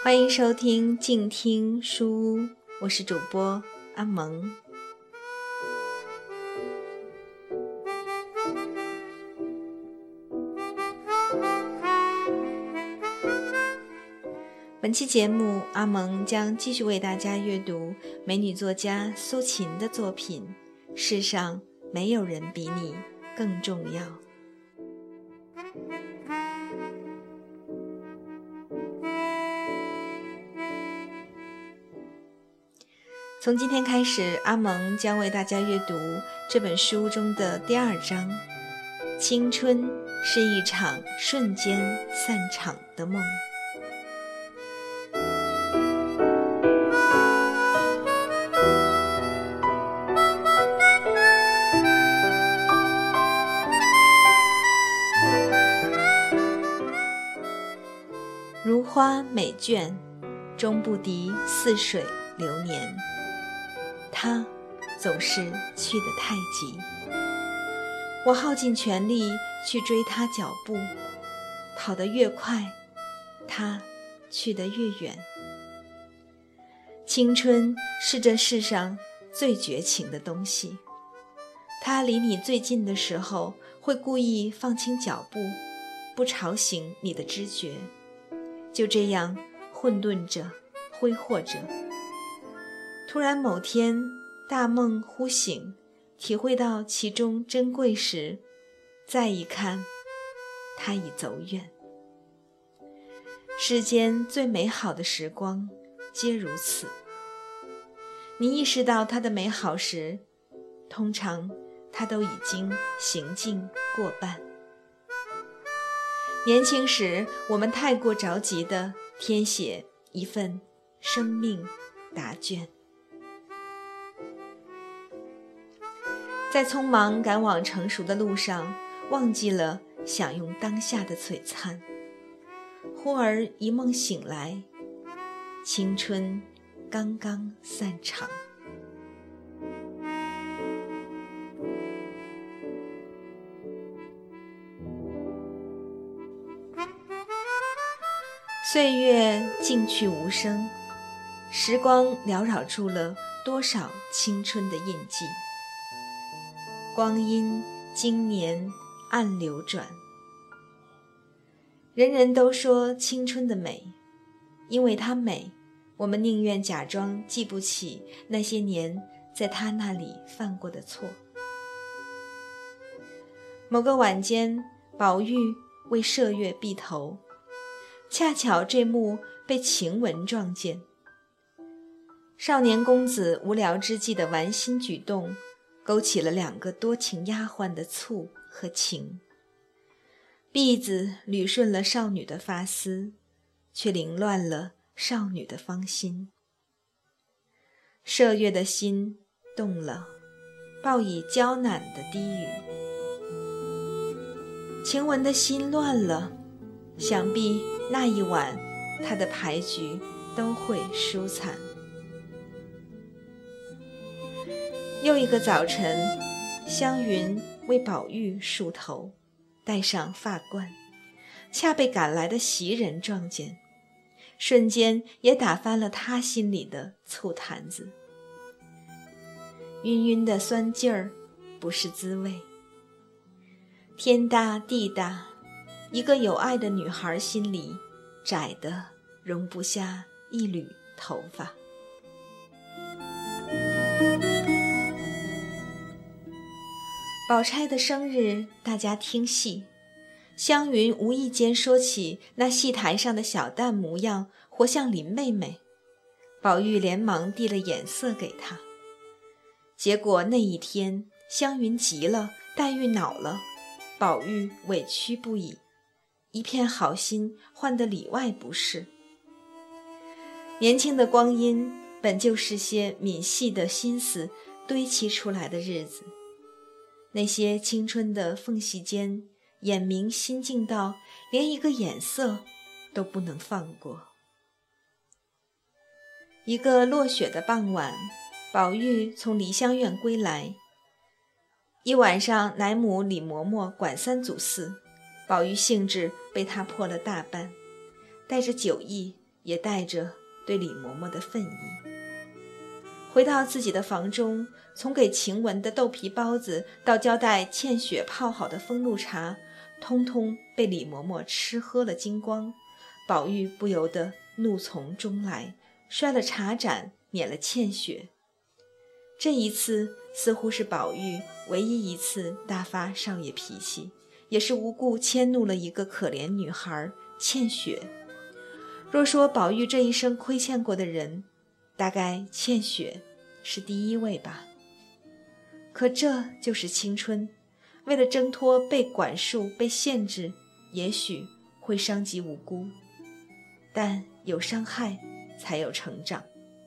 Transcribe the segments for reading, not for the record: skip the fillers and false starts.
欢迎收听静听书屋，我是主播阿蒙。本期节目，阿蒙将继续为大家阅读美女作家苏秦的作品《世上没有人比你更重要》。从今天开始，阿蒙将为大家阅读这本书中的第2章。青春是一场瞬间散场的梦。如花美眷，终不敌似水流年。他总是去得太急，我耗尽全力去追他脚步，跑得越快，他去得越远。青春是这世上最绝情的东西，它离你最近的时候，会故意放轻脚步，不吵醒你的知觉，就这样混沌着，挥霍着。突然某天大梦忽醒，体会到其中珍贵时，再一看，它已走远。世间最美好的时光皆如此，你意识到它的美好时，通常它都已经行尽过半。年轻时，我们太过着急地填写一份生命答卷，在匆忙赶往成熟的路上，忘记了享用当下的璀璨。忽而一梦醒来，青春刚刚散场。岁月静去无声，时光缭绕住了多少青春的印记。光阴经年暗流转，人人都说青春的美，因为它美，我们宁愿假装记不起那些年在他那里犯过的错。某个晚间，宝玉为麝月避头，恰巧这幕被晴雯撞见。少年公子无聊之际的玩心举动，勾起了2个多情丫鬟的醋和情。篦子捋顺了少女的发丝，却凌乱了少女的芳心。麝月的心动了，报以娇赧的低语。晴雯的心乱了，想必那一晚她的牌局都会输惨。又一个早晨，湘云为宝玉梳头，戴上发冠，恰被赶来的袭人撞见，瞬间也打翻了他心里的醋坛子。晕晕的酸劲儿不是滋味。天大地大，一个有爱的女孩心里窄得容不下一缕头发。宝钗的生日，大家听戏，湘云无意间说起那戏台上的小旦模样活像林妹妹，宝玉连忙递了眼色给她。结果那一天，湘云急了，黛玉恼了，宝玉委屈不已，一片好心换得里外不是。年轻的光阴本就是些泯细的心思堆砌出来的日子，那些青春的缝隙间，眼明心静到连一个眼色都不能放过。一个落雪的傍晚，宝玉从梨香院归来，一晚上奶母李嬷嬷管3阻4，宝玉兴致被他破了大半，带着酒意也带着对李嬷嬷的愤意。回到自己的房中，从给晴雯的豆皮包子到交代茜雪泡好的风露茶，通通被李嬷嬷吃喝了精光。宝玉不由得怒从中来，摔了茶盏，免了茜雪。这一次似乎是宝玉唯一一次大发少爷脾气，也是无故迁怒了一个可怜女孩茜雪。若说宝玉这一生亏欠过的人，大概茜雪是第一位吧。可这就是青春，为了挣脱被管束、被限制，也许会伤及无辜，但有伤害才有成长。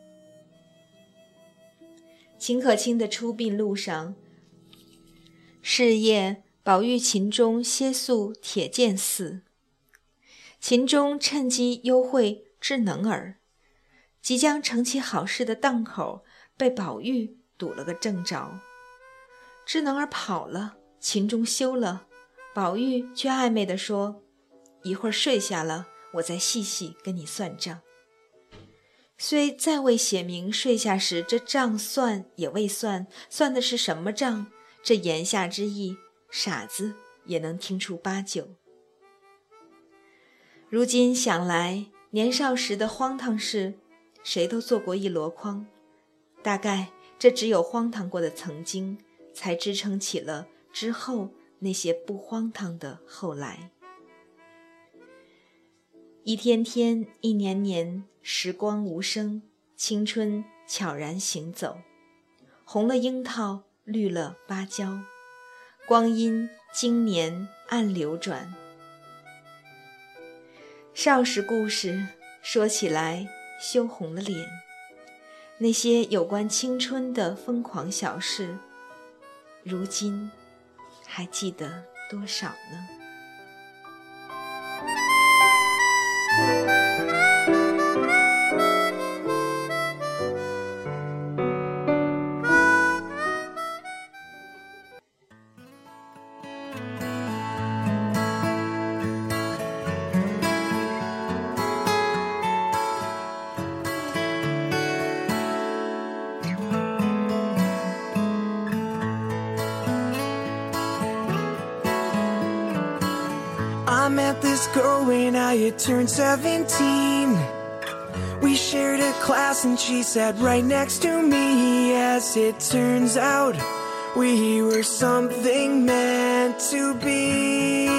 秦可卿的出殡路上，是夜宝玉秦钟歇宿铁剑寺，秦钟趁机幽会智能儿，即将成其好事的档口被宝玉堵了个正着。智能儿跑了，秦钟休了，宝玉却暧昧地说，一会儿睡下了，我再细细跟你算账。虽再未写明睡下时这账算也未算，算的是什么账，这言下之意，傻子也能听出八九。如今想来，年少时的荒唐事，谁都做过一箩筐，大概这只有荒唐过的曾经，才支撑起了之后那些不荒唐的后来。一天天，一年年，时光无声，青春悄然行走，红了樱桃，绿了芭蕉，光阴经年暗流转。少时故事说起来羞红了脸，那些有关青春的疯狂小事，如今还记得多少呢 I met this girl when I had turned 17. We shared a class and she sat right next to me. As it turns out, we were something meant to be.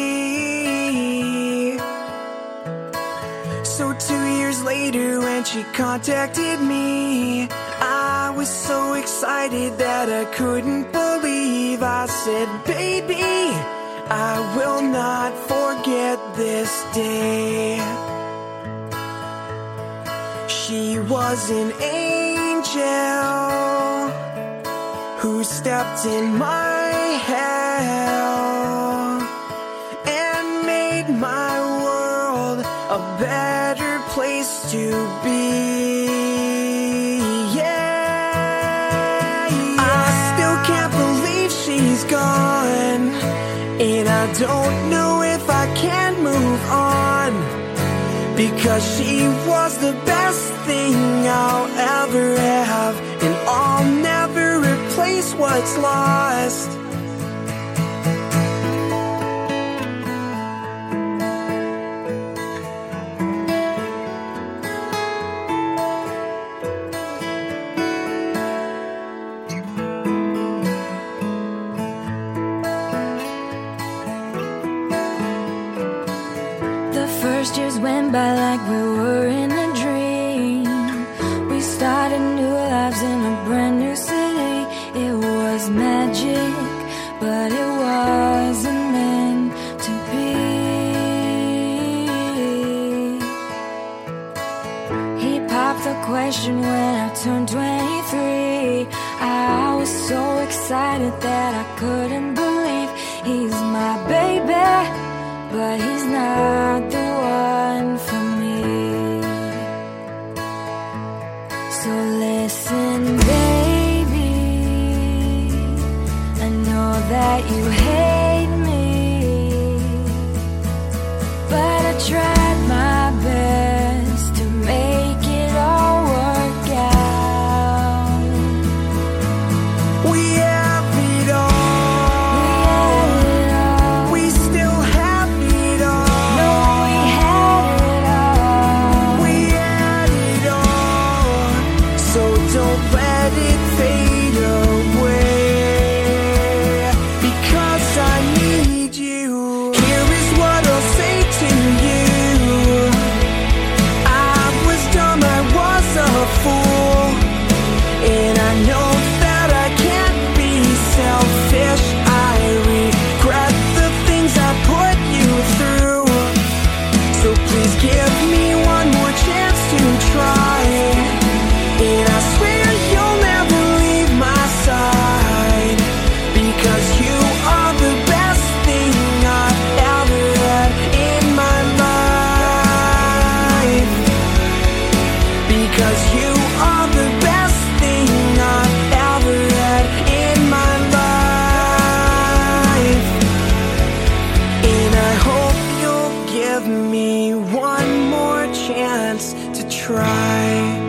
So 2 years later when she contacted me, I was so excited that I couldn't believe. I said, baby, I will not forget this day. She was an angel who stepped in my hell and made my world a better place to be. Yeah, I still can't believe she's gone, and I don't know if I can move on, because she was the best thing I'll ever have, and I'll never replace what's lost. First years went by like we were in a dream. We started new lives in a brand new city. It was magic, but it wasn't meant to be. He popped the question when I turned 23. I was so excited that I couldn't believe he's my baby, but he's not the one for me. So listen, baby, I know that you hate me, but I tried my best don't let it fade away, because I need you. Here is what I'll say to you. I was dumb, I was a fool, and I know that I can't be selfish. I regret the things I put you through, so please give me one more chance to try, and I swear you'll never leave my side, because you are the best thing I've ever had in my life, because you are the best thing I've ever had in my life, and I hope you'll give me one more chance to try.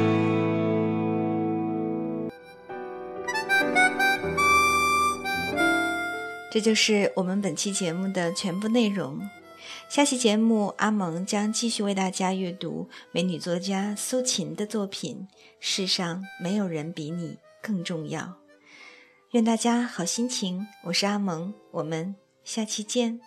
这就是我们本期节目的全部内容。下期节目，阿蒙将继续为大家阅读美女作家苏秦的作品《世上没有人比你更重要》。愿大家好心情，我是阿蒙，我们下期见。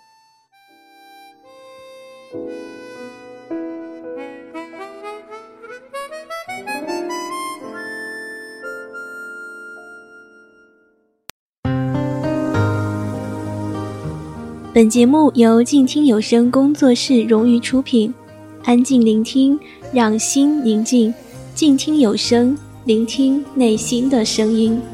本节目由静听有声工作室荣誉出品，安静聆听，让心宁静，静听有声，聆听内心的声音。